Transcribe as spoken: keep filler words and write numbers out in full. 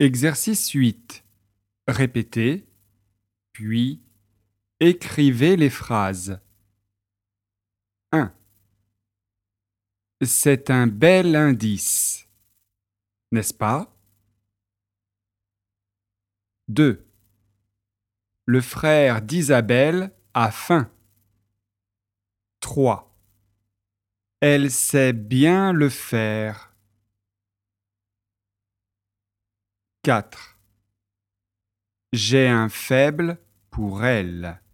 Exercice huit. Répétez, puis écrivez les phrases. un. C'est un bel indice, n'est-ce pas? deux. Le frère d'Isabelle a faim. trois. Elle sait bien le faire. quatre. J'ai un faible pour elle.